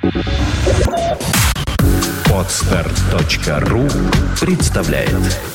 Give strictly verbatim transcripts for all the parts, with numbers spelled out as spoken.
Подстер точка ру представляет.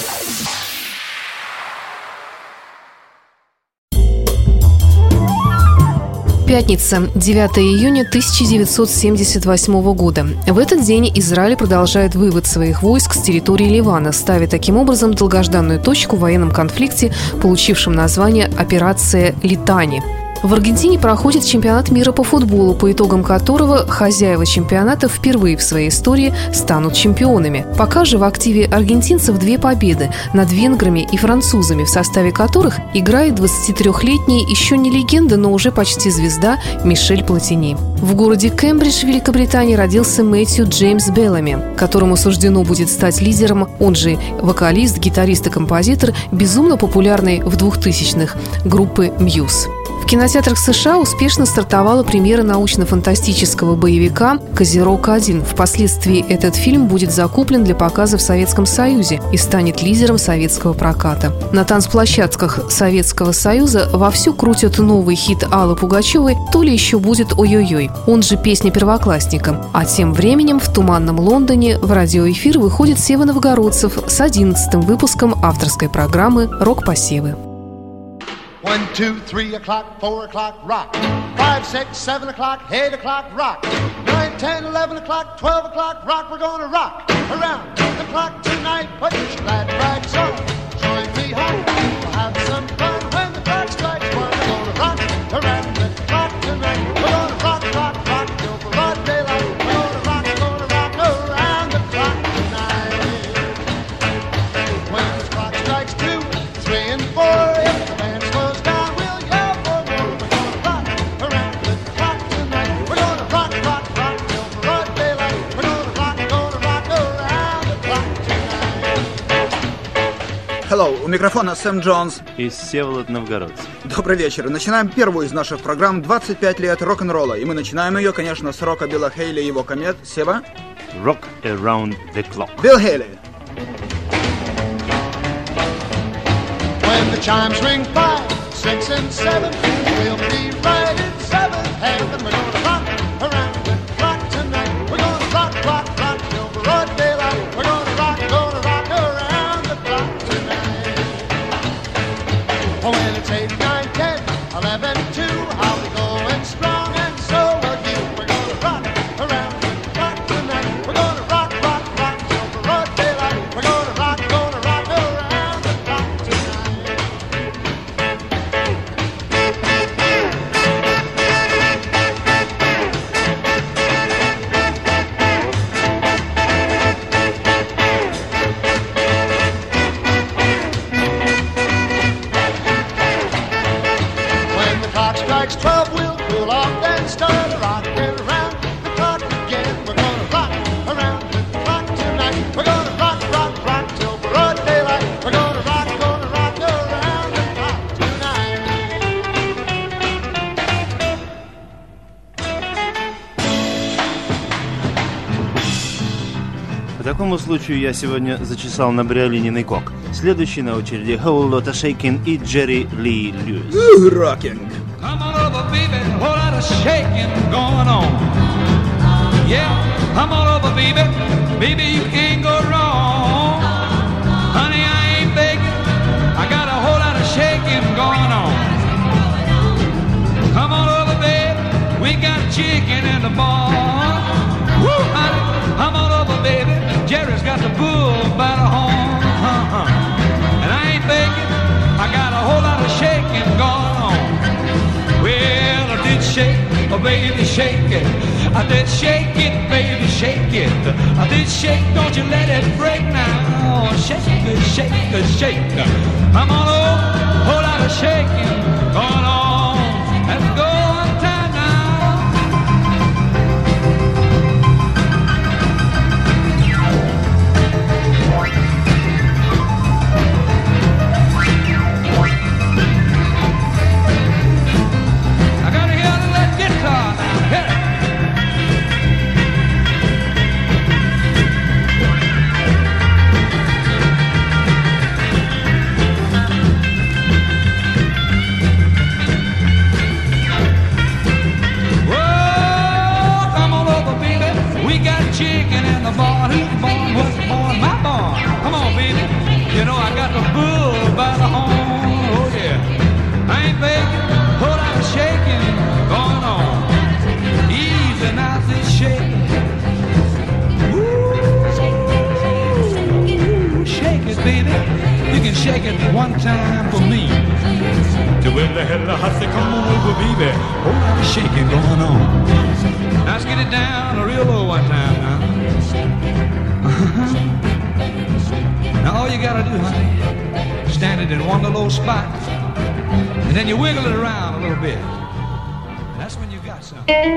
Пятница, девятое июня тысяча девятьсот семьдесят восьмого года. В этот день Израиль продолжает вывод своих войск с территории Ливана, ставя таким образом долгожданную точку в военном конфликте, получившем название «Операция Литани». В Аргентине проходит чемпионат мира по футболу, по итогам которого хозяева чемпионата впервые в своей истории станут чемпионами. Пока же в активе аргентинцев две победы над венграми и французами, в составе которых играет двадцатитрёхлетний, еще не легенда, но уже почти звезда Мишель Платини. В городе Кембридж, Великобритании, родился Мэтью Джеймс Беллами, которому суждено будет стать лидером, он же вокалист, гитарист и композитор, безумно популярной в двухтысячных группы Мьюз. В кинотеатрах США успешно стартовала премьера научно-фантастического боевика «Козерог один». Впоследствии этот фильм будет закуплен для показа в Советском Союзе и станет лидером советского проката. На танцплощадках Советского Союза вовсю крутят новый хит Аллы Пугачевой «То ли еще будет ой-ой-ой», он же «Песня первоклассника». А тем временем в туманном Лондоне в радиоэфир выходит Сева Новгородцев с одиннадцатым выпуском авторской программы «Рок-посевы». One, two, three o'clock, four o'clock, rock. Five, six, seven o'clock, eight o'clock, rock. Nine, ten, eleven o'clock, twelve o'clock, rock. We're gonna rock around the clock tonight. Put your glad rags on. Join me home. We'll have some fun when the clock strikes one. We're gonna rock around the clock tonight. We're gonna rock, rock, rock till broad daylight. We're gonna rock, gonna rock around the clock tonight. When the clock strikes two, three, and four, if the band slows down, we'll yell for more. We're gonna rock around the clock tonight. We're gonna rock, rock, rock till broad daylight. We're gonna rock, gonna rock around the clock tonight. Hello, у микрофона Сэм Джонс и Всеволод Новгородцев. Добрый вечер. Начинаем первую из наших программ «двадцать пять лет рок-н-ролла». И мы начинаем ее, конечно, с рока Билла Хейли и его комет. Сева? Rock Around the Clock. Билл Хейли. When the chimes ring five, six, and seven, we'll be right in seventh heaven. We're gonna rock around the clock tonight. We're gonna rock, rock, rock till broad daylight. We're gonna rock, gonna rock around the clock tonight. Oh, when it's eight, nine, ten, eleven, two, I'll be going strong, and so will you. We're gonna rock around the clock tonight. We're gonna rock, rock, rock till broad daylight. We're gonna rock, gonna rock around the clock tonight. When the clock strikes twelve, we'll cool off and start rocking around the clock again. We're gonna rock around the clock tonight. We're gonna rock, rock, rock till broad daylight. We're gonna rock, gonna rock around the clock tonight. По такому случаю я сегодня зачесал на бриолининый кок. Следующий на очереди Whole Lotta Shakin' и Джерри Ли Льюис. Рокинг. Come on over, baby, a whole lot of shaking going on. Yeah, come on over, baby, baby, you can't go wrong. Honey, I ain't begging, I got a whole lot of shaking going on. Come on over, baby, we got chicken in the barn. Woo, honey, come on over, baby, Jerry's got the bull by the horn. Uh-huh. And I ain't begging, I got a whole lot of shaking going on. Well, I did shake, oh baby, shake it. I did shake it, baby, shake it. I did shake, don't you let it break now. Shake it, shake it, shake it. I'm on a whole lot of shaking going on. Let's go one time now. I gotta hear that guitar now. Hit it. shake it one time for me. To win the hell I say, come on over, baby. Oh, lot of shaking going on. Now let's get it down real low one time now. Uh-huh. Now all you gotta do, honey, stand it in one little spot, and then you wiggle it around a little bit. That's when you got something.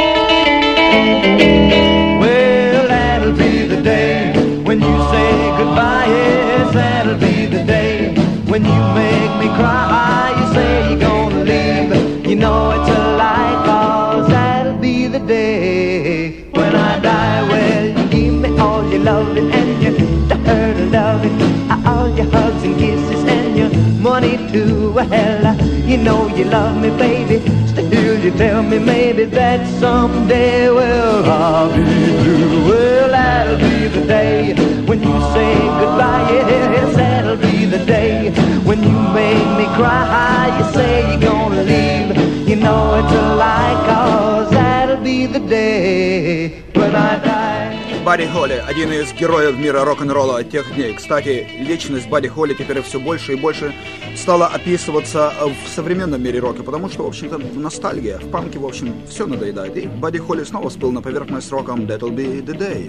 Well, that'll be the day when you say goodbye. Yes, that'll be the day when you make me cry. You say you're gonna leave, you know it's a lie, 'cause that'll be the day when I die. Well, you give me all your loving and your hurt loving, all your hugs and kisses and your money too. Well, you know you love me, baby. Still you tell me maybe that someday, well, I'll be through. Well, that'll be the day when you say goodbye. Yes, that'll be the day when you make me cry. You say you're gonna leave, you know it's a lie, 'cause that'll be the day when I die. Бадди Холли – один из героев мира рок-н-ролла тех дней. Кстати, личность Бадди Холли теперь все больше и больше стала описываться в современном мире рока, потому что, в общем-то, ностальгия. В панке, в общем, все надоедает. И Бадди Холли снова всплыл на поверхность роком «That'll be the day».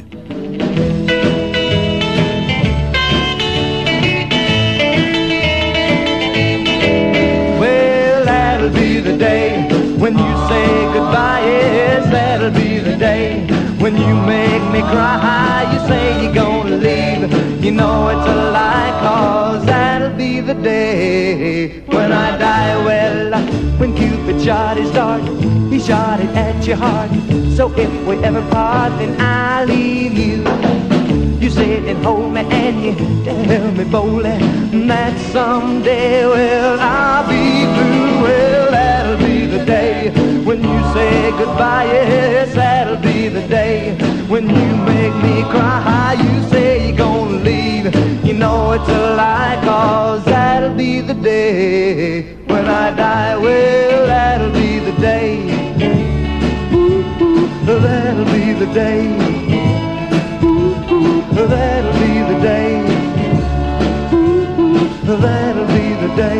Well, that'll be the day when you say goodbye. Yes, that'll be the day when you make me cry. You say you're gonna leave, you know it's a lie, 'cause that'll be the day when I die. Well, when Cupid shot his dart, he shot it at your heart. So if we ever part, then I'll leave you. You sit and hold me and you tell me boldly that someday, well, I'll be through. Well, that'll be the day when you say goodbye. Yes, that'll be the day when you make me cry. You say you're gonna leave, you know it's a lie, 'cause that'll be the day when I die. Well, that'll be the day. Ooh, ooh, that'll be the day. Ooh, ooh, that'll be the day. Ooh, ooh, that'll be the day.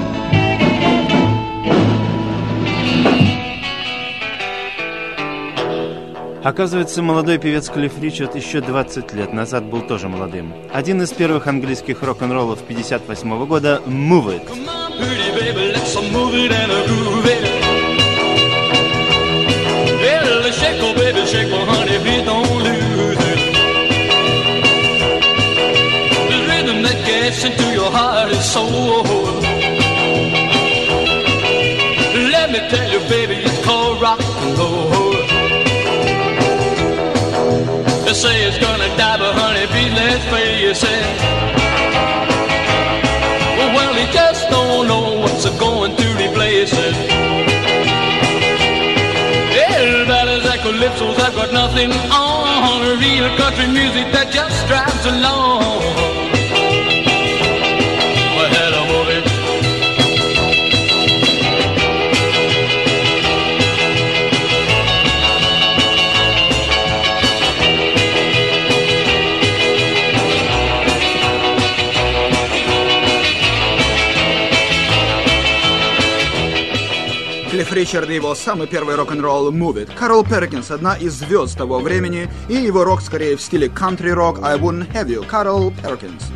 Оказывается, молодой певец Клифф Ричард еще двадцать лет назад был тоже молодым. Один из первых английских рок-н-роллов пятьдесят восьмого года «Move It». They say it's gonna die, but honey, please let's face it. Well, he just don't know what's going to replace it. Yeah, ballads and calypsos have got nothing on. Real country music that just drives along. Well, hello, movie. Клифф Ричард и его самый первый рок-н-ролл «Move It». Карл Перкинс – одна из звезд того времени, и его рок скорее в стиле country-рок «I Wouldn't Have You». Карл Перкинс.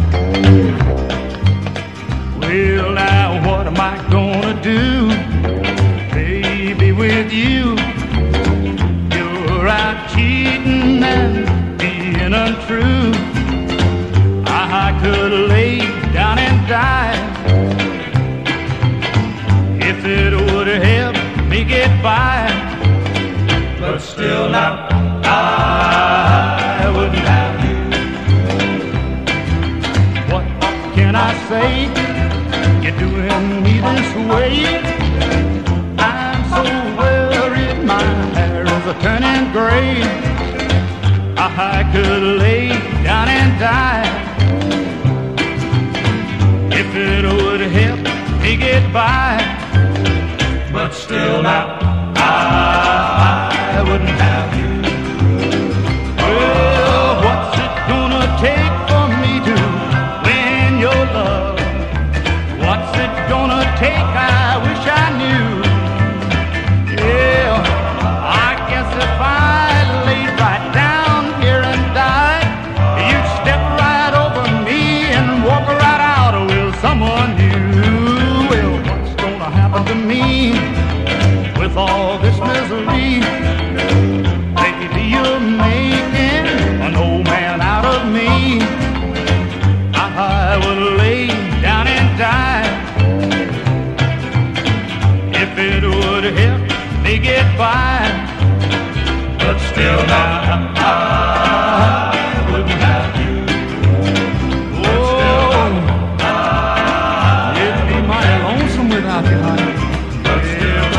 Well, now what am I gonna do, baby, with you? You're out cheating and being untrue. I could lay down and die if it would help me get by, but still now I wouldn't have you. What can I say? You're doing me this way. I'm so worried, my hair is a turning gray. I could lay down and die if it would help me get by, but still now I, I wouldn't have you. Well, what's it gonna take for me to win your love? Well, now I wouldn't have you. Oh, it'd be mighty lonesome without you, honey. But still,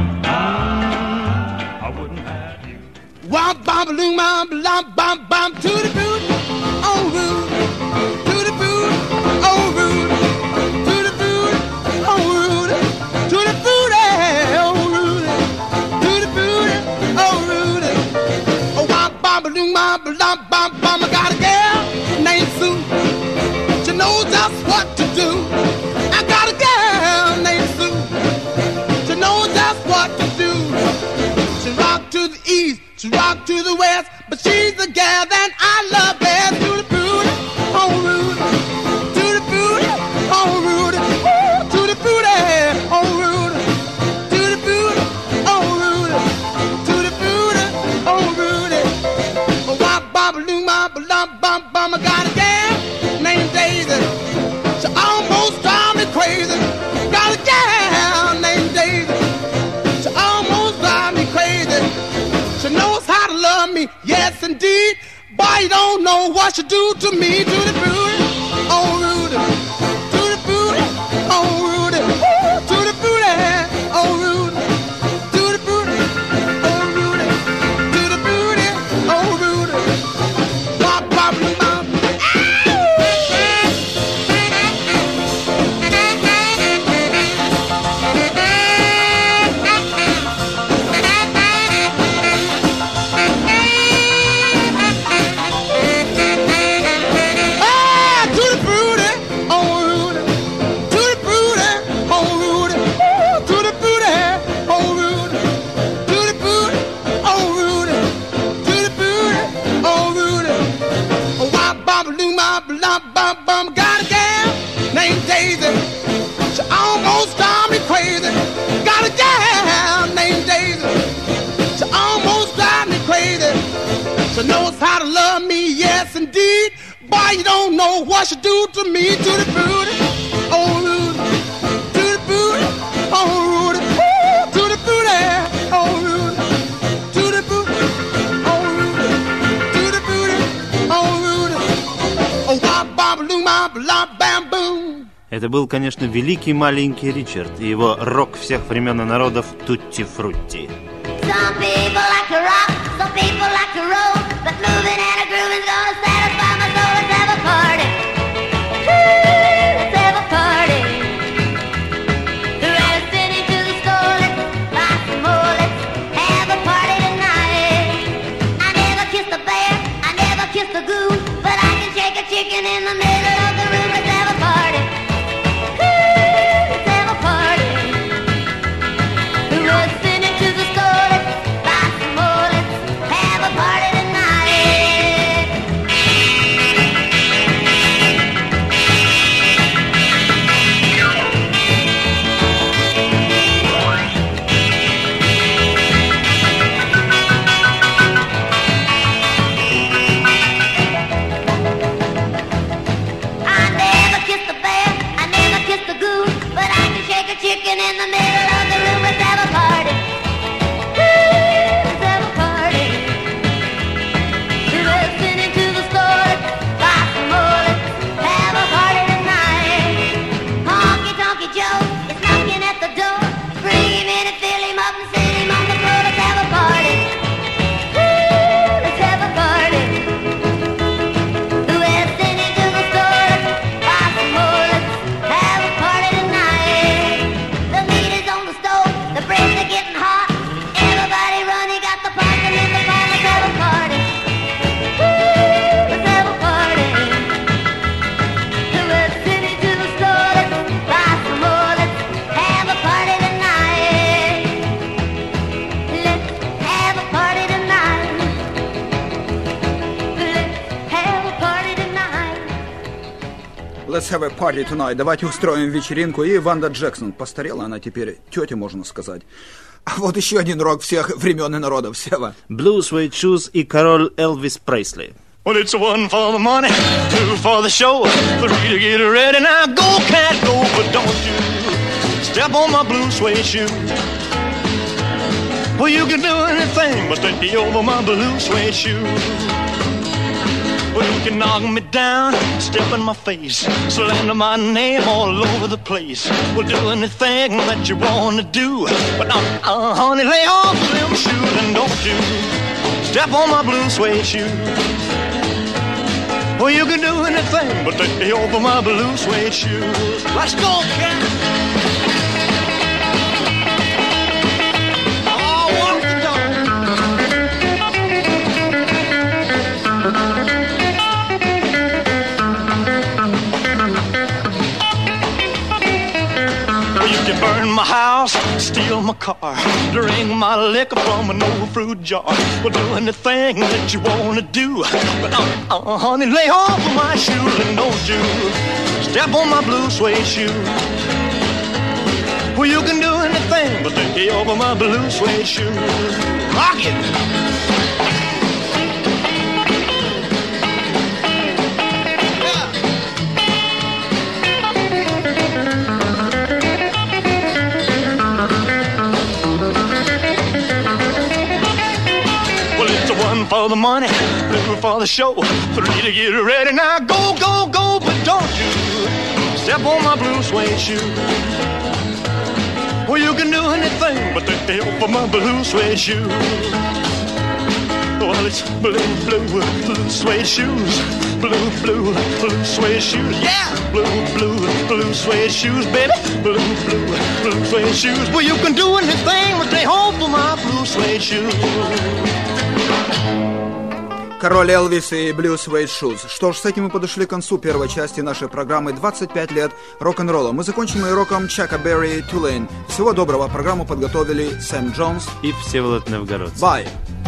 I wouldn't have you. Womp bom balloon bom bom bom bom to the boot, oh Rudy, to the boot, oh Rudy, to the boot, oh Rudy, to the boot, oh Rudy, to the boot, oh Rudy. Oh womp bom balloon bom bom bom bom. I got a girl named Sue. She knows just what to do. I got a girl named Sue. She knows just what to do. She rock to the east, she rock to the west, but she's the gal that I love best. To the booty, oh Rudy, to the booty, oh Rudy, ooh, to the booty, oh Rudy, to the booty, oh Rudy, to the booty, oh Rudy. Oh, wop, bop, loom, bop, lump, bum, bum. I got a gal named Daisy. She almost drives me crazy. Got a gal named Daisy. She almost drives me crazy. She knows how to love me, yes indeed. Boy, you don't know what she do to me. To the booty, oh Rudy, to the booty, oh Rudy, ooh, to the booty, oh Rudy, to the booty, oh Rudy, to the booty, oh Rudy. Bop, bop, bop. Got a gal named Daisy. She almost drives me crazy. Got a gal named Daisy. She almost drives me crazy. She knows how to love me, yes indeed. Boy, you don't know what she do to me. To the booty, oh Rudy, to the booty, oh Rudy, ooh, to the booty, oh Rudy, to the booty, oh Rudy, to the booty, oh Rudy. Oh, wop, bop, loom, bop, lop, bam, boom. Это был, конечно, великий маленький Ричард и его рок всех времен и народов «Тутти Фрутти». Some people like to rock, some people like to roll, but moving and a grooving's gonna satisfy my soul. Let's have a party. Woo, let's have a party. The rest sitting to the store, let's buy some more. Let's have a party tonight. I never kissed a bear, I never kissed a goose, but I can shake a chicken in the middle of the room. Let's have a party. Woo, let's have a party. The rest sitting to the store, let's buy some more. Let's have a party tonight. I never kissed a bear, I never kissed a goose, but I can shake a chicken in the middle of the room. Let's have a party. Woo, let's have a party. We're listening into the store, let's buy some more. Let's have a party tonight. Honky Tonky Joe is knocking at the door. Bring him in and fill him up and sit him on the floor. Let's have a party. Woo, let's have a party. We're listening to the store, let's buy some more. Let's have a party tonight. The meat is on the stove, the breads are getting hot. Everybody run, you got the parking in the car. Let's have a party. Woo, let's have a party. We're listening to the store, let's buy some more. Let's have a party tonight. Let's have a party tonight. Let's have a party tonight. Let's have a party tonight. Давайте устроим вечеринку. И Ванда Джексон. Постарела она теперь, тетя, можно сказать. А вот еще один рок всех времен и народов. Сева. Blue Suede Shoes и король Элвис Пресли. Well, it's one for the money, two for the show, three to get ready. Now go, cat, go, but don't you step on my blue suede shoe. Well, you can do anything but take me over my blue suede shoes. Well, you can knock me down, step in my face, slander my name all over the place. Well, do anything that you want to do, but now, uh, honey, lay off them shoes and don't you step on my blue suede shoes. Well, you can do anything but take me over my blue suede shoes. Let's go, cat! Burn my house, steal my car, drink my liquor from an old fruit jar. Well, do anything that you wanna do, but uh, uh, honey, lay off of my shoes and don't you step on my blue suede shoes. Well, you can do anything but take me over my blue suede shoes. Rock it! For the money, two for the show, three to get ready. Now go, go, go, but don't you step on my blue suede shoe. Well, you can do anything but take me over my blue suede shoe. Well, it's blue, blue, blue suede shoes, blue, blue, blue suede shoes. Yeah, blue, blue, blue suede shoes, baby, blue, blue, blue suede shoes. Well, you can do anything but stay home for my blue suede shoes. Король Элвис и Blue Suede Shoes. Что ж, с этим мы подошли к концу первой части нашей программы «двадцать пять лет рок-н-ролла». Мы закончим и роком Чака Берри «Tulane». Всего доброго. Программу подготовили Сэм Джонс и Всеволод Новгородцев. Bye.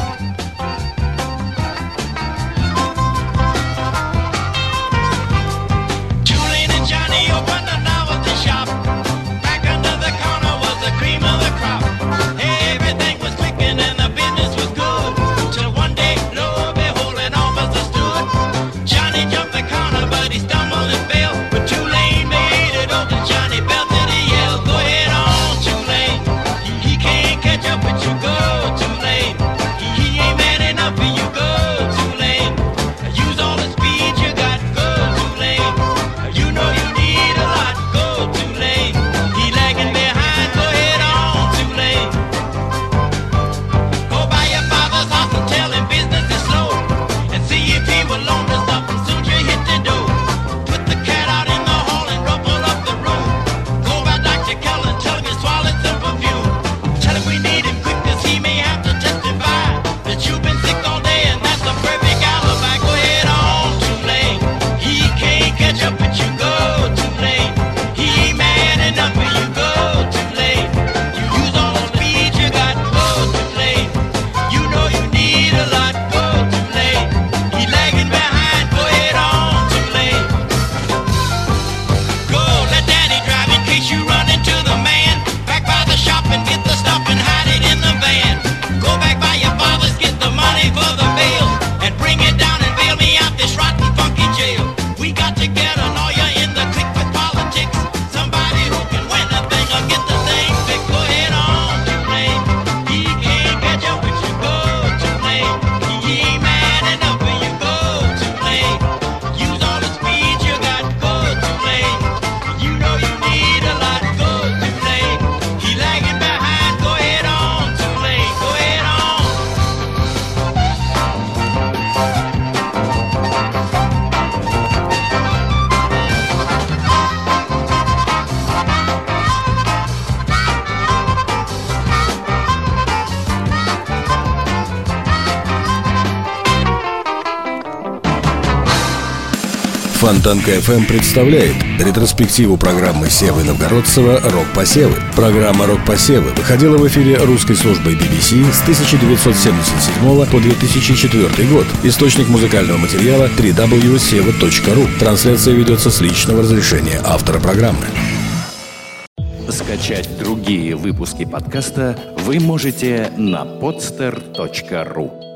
Фонтанка эф эм представляет ретроспективу программы Севы Новгородцева «Рок-посевы». Программа «Рок-посевы» выходила в эфире русской службой би би си с тысяча девятьсот семьдесят седьмого по две тысячи четвёртый год. Источник музыкального материала дабл ю дабл ю дабл ю точка сева точка ру. Трансляция ведется с личного разрешения автора программы. Скачать другие выпуски подкаста вы можете на podster точка ру.